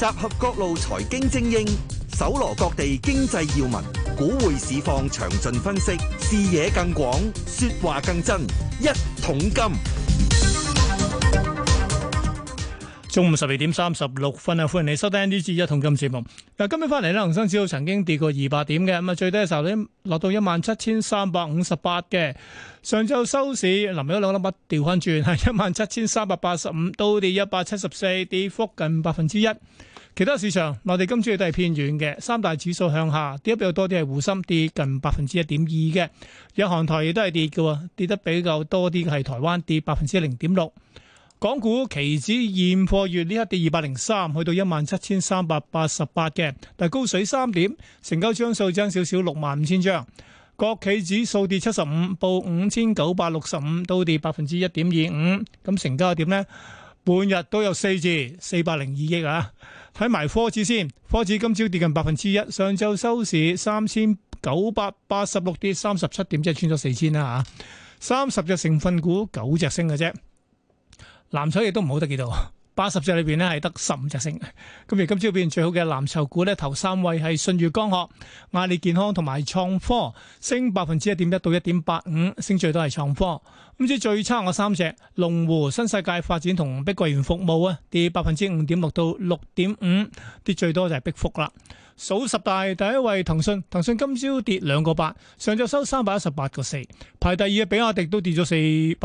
集合各路財經精英，搜羅各地經濟要聞，股匯市況詳盡分析，視野更廣，說話更真。一桶金。 中午12:36啊，歡迎你收聽呢節一桶金節目。嗱，今日翻嚟咧，恒生指數曾經跌過200點嘅，咁啊最低嘅時候咧落到17,358嘅。上晝收市臨尾嗰兩粒筆調翻轉，係17,385，都跌174，跌幅近1%。其他市場，內地今朝都係偏軟嘅，三大指數向下，跌得比較多啲係滬深跌近1.2%嘅，日韓台亦都係跌嘅，跌得比較多啲嘅係台灣跌0.6%。港股期指現貨月呢刻跌203，去到17,388嘅，但係高水3點，成交張數增少少65,000張。國企指數跌75，報5,965，都跌1.25%。咁成交點呢？半日都有4字，402億啊！睇埋科指先，科指今朝跌近1%，上晝收市3,986，跌37點，即係穿咗4,000啦嚇。30隻成分股9隻升嘅啫。藍籌亦都唔好得幾多，80隻裏邊咧係得15隻升。咁而今朝表現最好嘅藍籌股咧，頭3位係舜宇光學、阿里健康同埋創科，升1.1%到1.85%，升最多係創科。咁至最差我3隻，龍湖、新世界發展同碧桂園服務啊，跌5.6%到6.5%，跌最多就係碧福啦。數十大第一位騰訊，騰訊今朝跌2個8，上晝收318.4，排第二嘅比亞迪都跌咗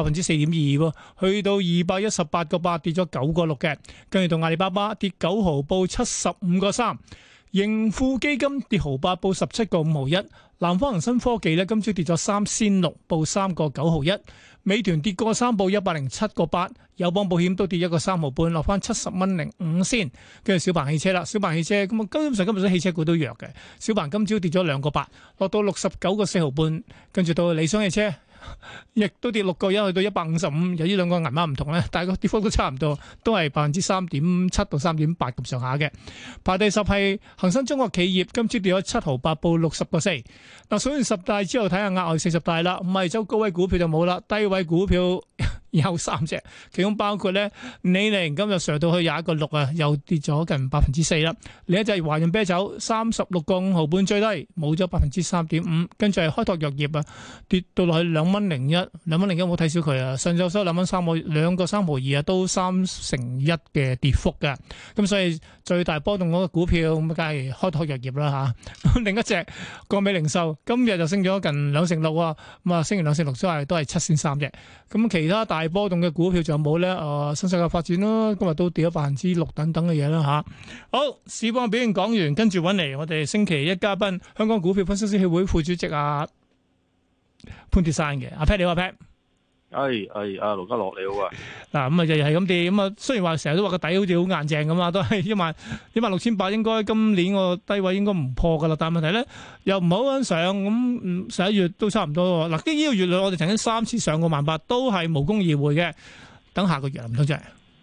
4.2%，去到218.8，跌咗9.6嘅。跟住到阿里巴巴跌9毫，報75.3，盈富基金跌毫8，報17.5毫1。南方恒生科技咧今朝跌咗3仙6，報3.9毫1。美團跌過3，報107.8，友邦保險都跌1個3毫半，落翻70.05先。跟住小鵬汽車啦，小鵬汽車咁啊，基本上今日啲汽車股都弱嘅。小鵬今朝跌咗2個8，落到69.4毫半。跟住到理想汽車，亦都跌6個1，去到155。由於兩個銀碼唔同咧，但係個跌幅都差唔多，都係3.7%到3.8%咁上下嘅。排第10係恒生中國企業，今朝跌咗7毫8，報60.4。嗱，數完10大之後，睇下額外40大啦。五十周高位股票就冇啦，低位股票有3隻，其中包括咧李寧今日上到去21.6啊，又跌咗近4%啦。另一隻華潤啤酒36.5毫半最低，冇咗3.5%。跟住係開拓藥業啊，跌到落去2.01，2.01冇睇少佢啊。上晝收2.3個3毫2啊，都1/3嘅跌幅嘅。咁所以最大波動嗰個股票咁梗係開拓藥業啦嚇。另一隻國美零售今日就升咗近2成6啊，咁啊升完2成6之後都係7仙3啫。咁其他大波動嘅股票仲有冇咧？新世界發展啦，今日都跌咗6%等等嘅嘢啦嚇。好，市況表現講完，跟住揾嚟我哋星期一嘉賓，香港股票分析師協會副主席潘鐵珊嘅阿 Pat， 你好阿 Pat。 阿盧家樂你好啊。 嗱，咁啊日日係咁跌，咁啊雖然話成日都話個底好似好硬淨咁啊，都係16,800，應該今年個低位應該唔破噶啦。但係問題咧又唔好咁上，咁11月都差唔多。嗱，呢個月內我哋曾經3次上過18000，都係無功而回嘅。等下個月唔通真係？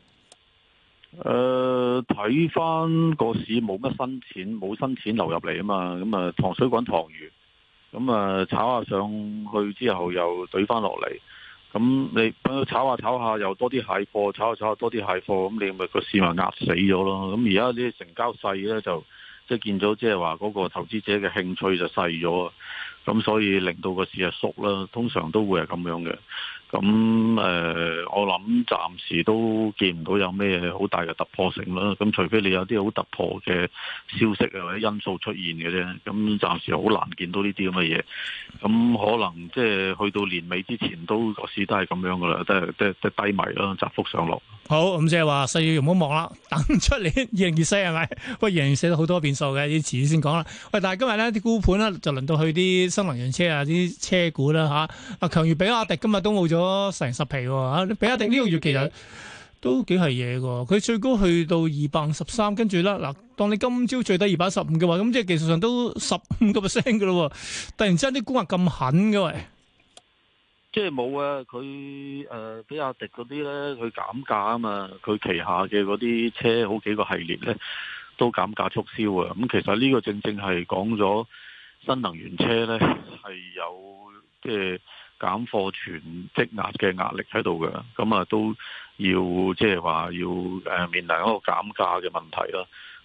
睇翻個市冇乜新錢，冇新錢流入嚟啊嘛，咁啊糖水滾糖魚，咁啊炒下上去之後又懟翻落嚟。咁你炒下炒下又多啲蟹貨，炒下炒下多啲蟹貨，咁你咪個市咪壓死咗咯。咁而家啲成交細咧，就即係見咗，即係話嗰個投資者嘅興趣就細咗，咁所以令到個市係縮啦。通常都會係咁樣嘅。咁我諗暫時都見唔到有咩好大嘅突破性啦。咁除非你有啲好突破嘅消息啊或者因素出現嘅啫。咁暫時好難見到呢啲咁嘅嘢。咁可能即係去到年尾之前都個市都係咁樣噶啦，都係低迷啦，窄幅上落。 好，咁即係話4月唔好望啦，等出年2024係咪？喂，2024都好多變數嘅，要遲啲先講啦。喂，但係今日咧啲沽盤咧就輪到去啲新能源車啊，啲車股啦嚇。強如比亞迪今日都冇咗成10皮喎嚇。比亞迪呢個月其實都幾係嘢㗎，佢最高去到253，跟住啦嗱，當你今朝最低215嘅話，咁即係技術上都15%㗎咯喎。突然之間啲沽壓咁狠嘅喂！ 即係冇啊！佢比亞迪嗰啲咧，佢減價啊嘛，佢旗下嘅嗰啲車好幾個系列咧都減價促銷啊！咁其實呢個正正係講咗新能源車咧係有即係減貨存積壓嘅壓力喺度嘅，咁啊都要即係話要面臨一個減價嘅問題啦。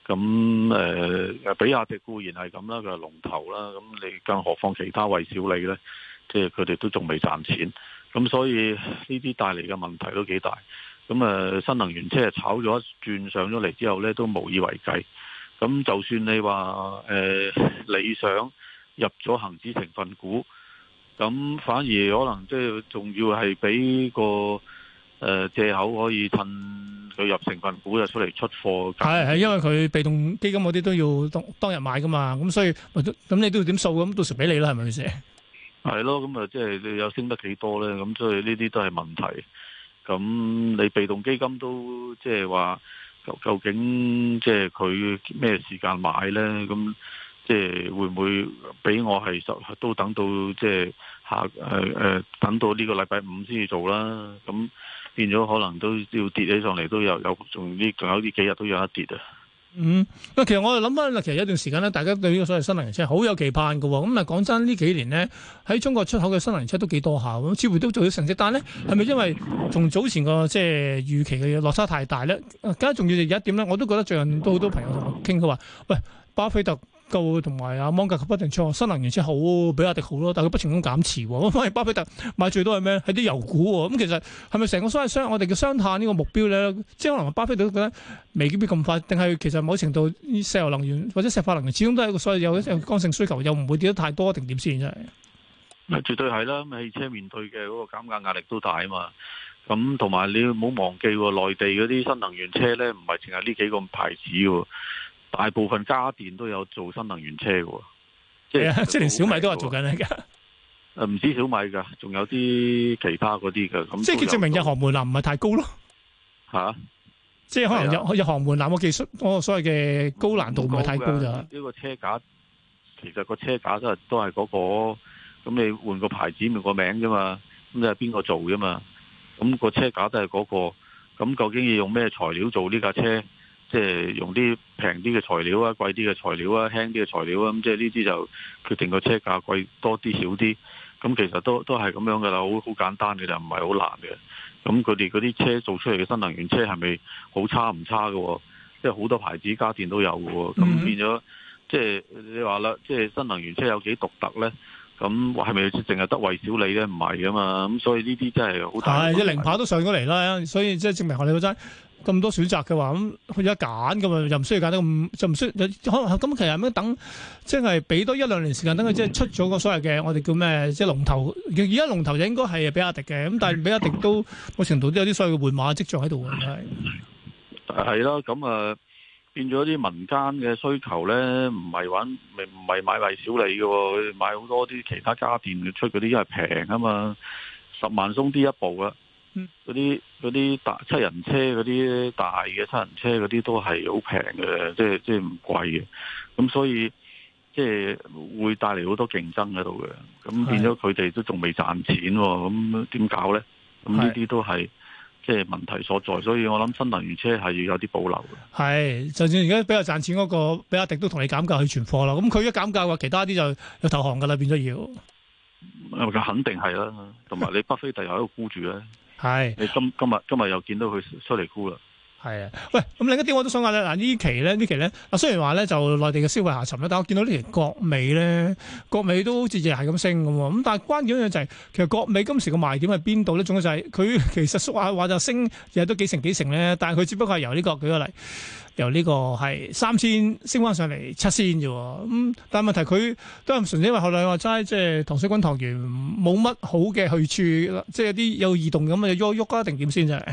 咁比亞迪固然係咁啦，佢係龍頭啦。咁你更何況其他蔚小理呢？即係佢哋都仲未賺錢。咁所以呢啲帶嚟嘅問題都幾大。咁新能源車炒咗一轉上咗嚟之後呢，都無以為繼。咁就算你話理想入咗恒指成分股，咁反而可能即係仲要係俾個藉口可以趁佢入成分股就出嚟出貨。 係因為佢被動基金嗰啲都要當日買噶嘛，咁所以咁你都要點數咁，到時俾你啦，係咪先？係咯，咁即係你有升得幾多呢？咁所以呢啲都係問題。咁你被動基金都即係話，究竟即係佢咩時間買呢？咁即係會唔會俾我係都等到即係等到呢個禮拜五先至做啦？咁變咗可能都要跌起上嚟，都仲有呢幾日都有一跌啊！ 其實我哋諗翻，其實有一段時間咧，大家對呢個所謂新能源車好有期盼嘅。咁講真，呢幾年呢，喺中國出口嘅新能源車都幾多下，咁似乎都做到成績。但係咧，係咪因為同早前個即係預期嘅落差太大咧？更加重要就有一點咧，我都覺得最近都好多朋友同我傾，佢話：喂，巴菲特同埋阿芒格不定出新能源車好，比亞迪好咯，但係佢不停咁減持。咁反而巴菲特買最多係咩？係啲油股。咁其實係咪成個所謂我哋嘅雙碳呢個目標咧？即係可能巴菲特都覺得未必咁快，定係其實某程度石油能源或者石化能源始終都係一個所謂有剛性需求，又唔會跌得太多，定點先真係？ 絕對係啦，汽車面對嘅嗰個減價壓力都大啊嘛。咁同埋你唔好忘記，內地嗰啲新能源車咧，唔係淨係呢幾個牌子嘅。大部分家電都有做新能源車嘅，即係連小米都話做緊㗎。 唔止小米㗎，仲有啲其他嗰啲嘅。咁即係證明入行門檻唔係太高咯。即係可能入行門檻個技術，我所謂嘅高難度唔係太高咋。 呢個車架其實個車架都係嗰個，咁你換個牌子換個名啫嘛，咁你係邊個做啫嘛？咁個車架都係嗰個，咁究竟要用咩材料做呢架車？即係用啲平啲嘅材料啊，貴啲嘅材料啊，輕啲嘅材料啊，咁即係呢啲就決定個車價貴多啲少啲。咁其實都係咁樣噶啦，好簡單嘅就唔係好難嘅。咁佢哋嗰啲車做出嚟嘅新能源車係咪好差唔差嘅？即係好多牌子家電都有嘅。咁變咗即係你話啦，即係新能源車有幾獨特咧？咁係咪淨係得蔚小理咧？唔係噶嘛。咁所以呢啲真係好大。 係一零跑都上咗嚟啦，所以即係證明我哋嗰陣。咁多選擇嘅話，咁佢有得揀噶嘛，又唔需要揀得咁，就唔需要可能咁。其實咁等，即係俾多一兩年時間，等佢即係出咗個所謂嘅我哋叫咩，即係龍頭。而家龍頭就應該係比亞迪嘅，咁但係比亞迪都某程度都有啲所謂嘅換馬跡象喺度嘅，係。 係咯，咁變咗啲民間嘅需求咧，唔係買蔚小理嘅，佢買好多啲其他家電出嗰啲，因為平啊嘛，10萬鬆啲一部啊。嗰啲大七人車嗰啲大嘅七人車嗰啲都係好平嘅，即係唔貴嘅，咁所以即係會帶嚟好多競爭喺度嘅，咁變咗佢哋都仲未賺錢，咁點搞呢？咁呢啲都係即係問題所在，所以我諗新能源車係要有啲保留嘅。係， 就算而家比較賺錢嗰個比亞迪都同你減價去存貨啦，咁佢一減價嘅話，其他啲就有投降噶啦，變咗要。 肯定係啦，同埋你巴菲特又喺度沽住咧。 係， 你今日又見到佢出嚟沽啦。 係啊，喂，咁另一啲我都想話咧，嗱呢期咧，雖然話咧就內地嘅消費下沉咧，但我見到呢期國美咧，國美都好似日係咁升咁喎。咁但係關鍵一樣就係，其實國美今時個賣點係邊度咧？仲有就係佢其實縮下話就升，日日都幾成咧，但係佢只不過係由呢個舉個例，由呢個係3000升翻上嚟7000啫。咁但係問題佢都係純粹因為後來話齋，即係糖水滾糖漿冇乜好嘅去處，即係有啲有異動咁嘅喐啊，定點先啫？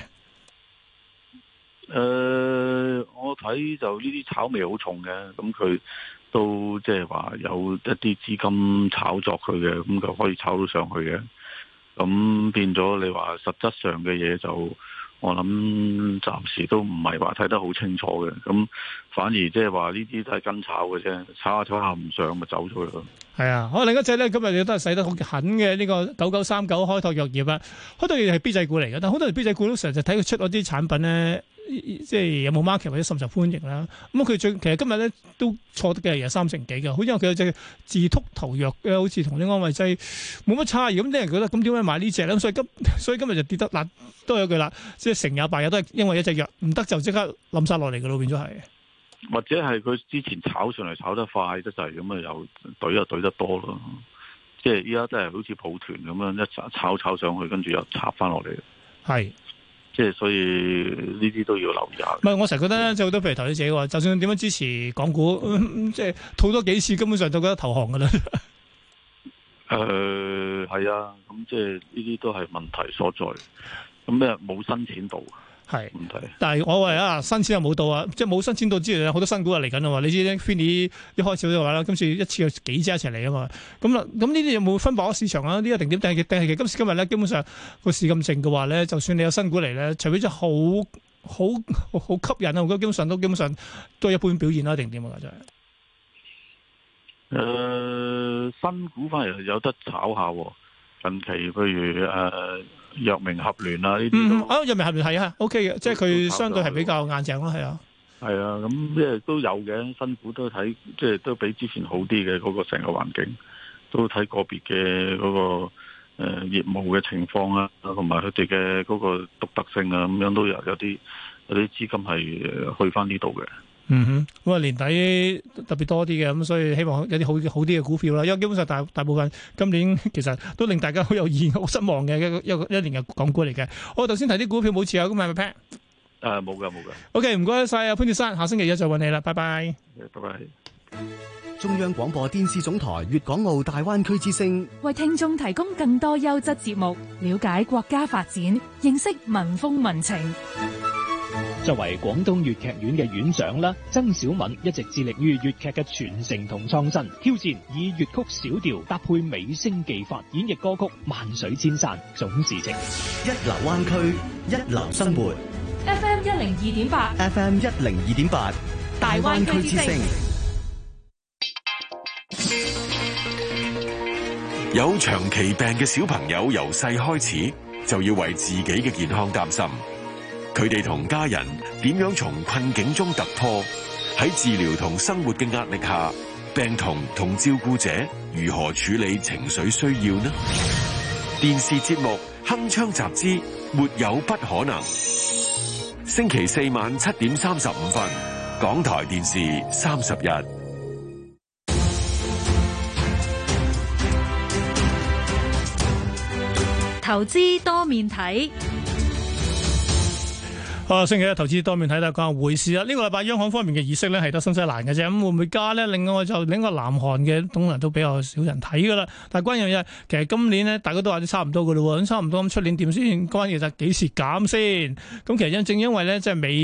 我睇就呢啲炒味好重嘅，咁佢都即係話有一啲資金炒作佢嘅，咁就可以炒到上去嘅。咁變咗你話實質上嘅嘢就，我諗暫時都唔係話睇得好清楚嘅。咁反而即係話呢啲都係跟炒嘅啫，炒下唔上咪走咗咯。係啊，好，另一隻咧今日亦都係使得好狠嘅呢個9939開拓藥業啊，開拓藥業係 B 仔股嚟嘅，但好多人 B 仔股都成日就睇佢出嗰啲產品咧。即係有冇 market 或者甚受歡迎啦？咁佢其實今日咧都錯得嘅，有3成幾嘅。好因為佢有隻自禿頭藥咧，好似同啲安慰劑冇乜差異。咁啲人覺得咁點解買呢隻咧？所以今日就跌得嗱，都有句啦，即係成也敗也都係因為一隻藥唔得就即刻冧晒落嚟嘅咯，變咗係。 或者係佢之前炒上嚟炒得快得滯，咁啊又懟得多咯。即係依家真係好似抱團咁樣一炒上去，跟住又插翻落嚟。 係。 即係所以呢啲都要留意下。 唔係，我成日覺得咧，即係好多譬如投資者話，就算點樣支持港股，即係套多幾次，根本上就覺得投降噶啦。 係啊，咁即係呢啲都係問題所在。咁咩冇新錢到？係問題。但係我話啊，新錢又冇到啊，即係冇新錢到之餘，好多新股又嚟緊啊嘛。你知咧 Finny 一開始都話啦，今次一次有幾隻一齊嚟啊嘛。咁呢啲有冇分薄市場啊？呢一定點？定係今時今日咧，基本上個市咁靜嘅話咧，就算你有新股嚟咧，除非真係好吸引啊，我覺得基本上都係一般表現啦，定點啊？真係。 新股反而有得炒下喎。近期譬如藥明合聯啊呢啲， 藥明合聯係啊 ，OK 嘅，即係佢相對係比較硬淨咯，係啊， 係啊，咁即係都有嘅，新股都睇，即係都比之前好啲嘅嗰個成個環境，都睇個別嘅嗰個業務嘅情況啊，同埋佢哋嘅嗰個獨特性啊，咁樣都有啲資金係去翻呢度嘅。 咁啊年底特別多啲嘅，咁所以希望有啲好啲嘅股票啦。因為基本上大部分今年其實都令大家好有意好失望嘅一年嘅港股嚟嘅。我頭先提啲股票冇持有，咁係咪 Pat？ 冇噶。 OK， 唔該晒啊潘鐵珊，下星期一再揾你啦，拜拜。 拜拜。 中央廣播電視總台粵港澳大灣區之聲， 為聽眾提供更多優質節目，了解國家發展，認識民風民情。 作為廣東粵劇院嘅院長啦，曾小敏一直致力於粵劇嘅傳承同創新，挑戰以粵曲小調搭配美聲技法演繹歌曲《萬水千山總是情》。 一流灣區，一流生活。 FM 102.8 FM 102.8 大灣區之聲。 有長期病嘅小朋友，由細開始就要為自己嘅健康擔心。佢哋同家人點樣從困境中突破？喺治療同生活嘅壓力下，病童同照顧者如何處理情緒需要呢？電視節目《鏗鏘集之沒有不可能》，星期四晚7點35分，港台電視30日。 投資多面睇。 星期一投資多面睇啦，講下匯市啦。呢個禮拜央行方面嘅議息咧係得新西蘭嘅啫，咁會唔會加咧？另外就另一個南韓嘅東南都比較少人睇噶啦。但係關鍵嘅嘢，其實今年咧大家都話啲差唔多噶啦，咁差唔多咁出年點先？關鍵就係幾時減先？咁其實正因為咧即係美